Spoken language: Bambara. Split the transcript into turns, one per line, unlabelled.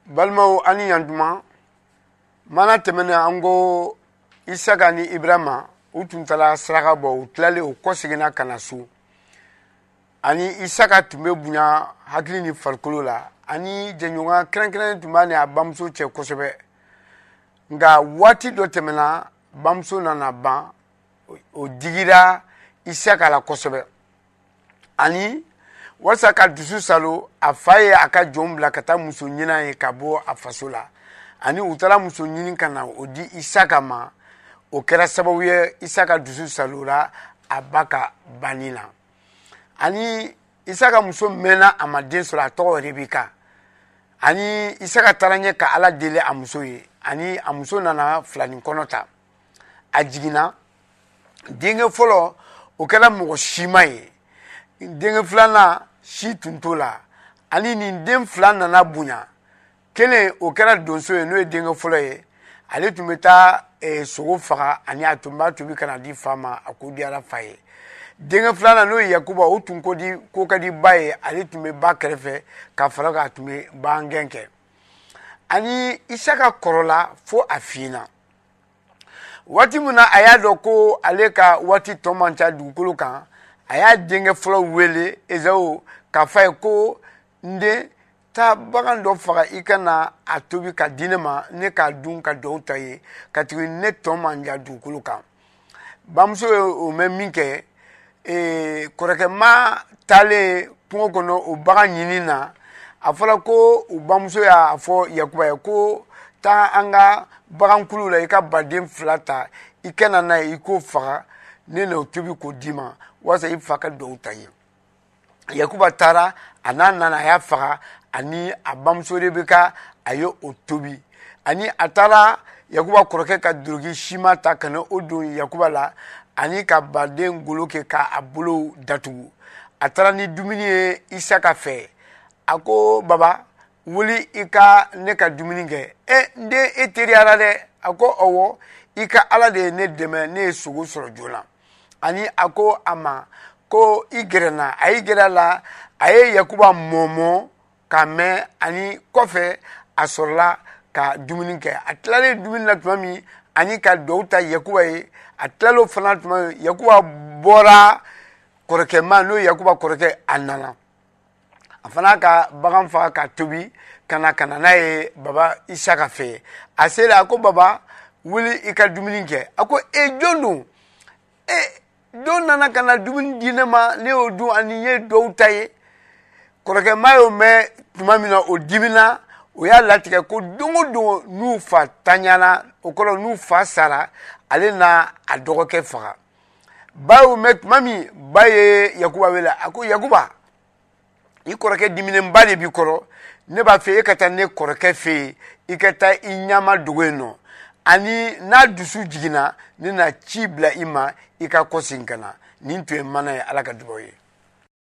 balmaw ani yantuma mana tɛmɛnen an ko Isaka ni Ibrahima u tun taara saraka bɔ u tilalen u kɔseginna ka na so ani Isaka tun bɛ bonya hakili ni farikolo la ani jɛɲɔgɔnya kɛrɛnkɛrɛnnen tun b'a ni a bamuso cɛ kosɛbɛ nka waati dɔ tɛmɛna bamuso nana ban o digira Isaka la kosɛbɛ ani walasa ka dusu salo a fa ye a ka jɔnw bila ka taa muso ɲini ye ka bɔ a faso la ani u taara muso ɲini ka na o di Isaka ma o kɛra sababu ye Isaka dusu salo la a ba ka banni na ani Isaka muso mɛnna a ma den sɔrɔ a tɔgɔ Rebeka ani Isaka taara ɲɛ ka Ala deli a muso ye ani a muso nana filani kɔnɔ ta a jiginna denkɛ fɔlɔ o kɛra mɔgɔ sima ye denkɛ filanan si tun t'o la ani nin den fila nana bonya kelen o kɛra donso ye n'o ye denkɛ fɔlɔ ye ale tun bɛ taa sogo faga ani a tun b'a tobi ka na di fa ma a ko diyara fa ye denkɛ filanan n'o ye Yakuba o tun ko ka di ba ye ale tun bɛ ba kɛrɛfɛ ka fara kan a tun bɛ bangɛn kɛ ani Isaka kɔrɔla fo a finna waati min na a y'a dɔn ko ale ka waati tɔ man ca dugukolo kan a y'a denkɛ fɔlɔ wele Esawu k'a fɔ a ye ko n den taa bagan dɔ faga i ka na a tobi ka di ne ma ne k'a dun ka dugawu ta ye ka tugu ne tɔ man ja dugukolo kan bamuso ye o mɛn min kɛ kɔrɔkɛma taalen kungo kɔnɔ o bagan ɲini na a fɔra ko u bamuso y'a fɔ Yakuba ye ko taa an ka bagankulu la i ka baden fila ta i ka na n'a ye i k'o faga ne n'o tobi k'o d'i ma walasa i fa ka dugawu ta ye Yakuba taara a n'a nana a y'a faga ani a bamuso Rebeka a ye o tobi ani a taara Yakuba kɔrɔkɛ ka duloki sima ta ka na o don Yakuba la ani ka baden golo kɛ k'a bolo datugu a taara ni dumuni ye Isaka fɛ a ko baba wuli i ka ne ka dumuni kɛ n den e teriyara dɛ a ko ɔwɔ i ka Ala de ye ne dɛmɛ ne ye sogo sɔrɔ joona ani a ko a ma ko i gɛrɛnna a y'i gɛrɛ a la a ye Yakuba mɔmɔ k'a mɛn ani kɔfɛ a sɔrɔla ka dumuni kɛ a tilalen dumuni na tuma min ani ka dugawu ta Yakuba ye a tilal'o fana tuma min Yakuba bɔra kɔrɔkɛma n'o ye Yakuba kɔrɔkɛ a nana a fana ka bagan faga ka tobi ka na n'a ye baba Isaka fɛ a sera a ko baba wuli i ka dumuni kɛ a ko jɔn don don nana ka na dumuni di ne ma ne y'o dun ani ye dugawu ta ye kɔrɔkɛma y'o mɛn tuma min na o dimina o y'a latigɛ ko don o don n'u fa taɲana o kɔrɔ n'u fa sara ale na a dɔgɔkɛ faga ba y'o mɛn tuma min ba ye Yakuba wele a ko Yakuba i kɔrɔkɛ diminenba de b'i kɔrɔ ne b'a fɛ e ka taa ne kɔrɔkɛ fɛ yen i ka taa i ɲama dogo yen nɔ ani n'a dusu jiginna ne na ci bila i ma i ka kɔsegin ka na nin tun ye mana ye Ala ka dugawu ye